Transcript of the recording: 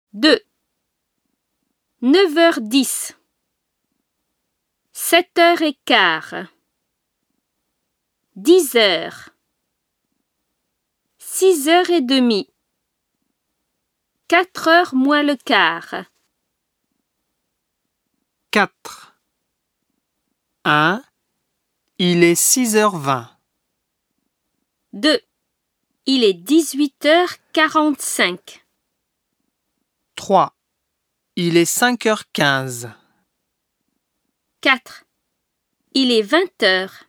2. 9h10. 7h15. 10h. 6h30. 4h moins le quart. 4. 1. Il est 6h20. 2. Il est 18h45. 3. Il est 5h15. 4. Il est 20h.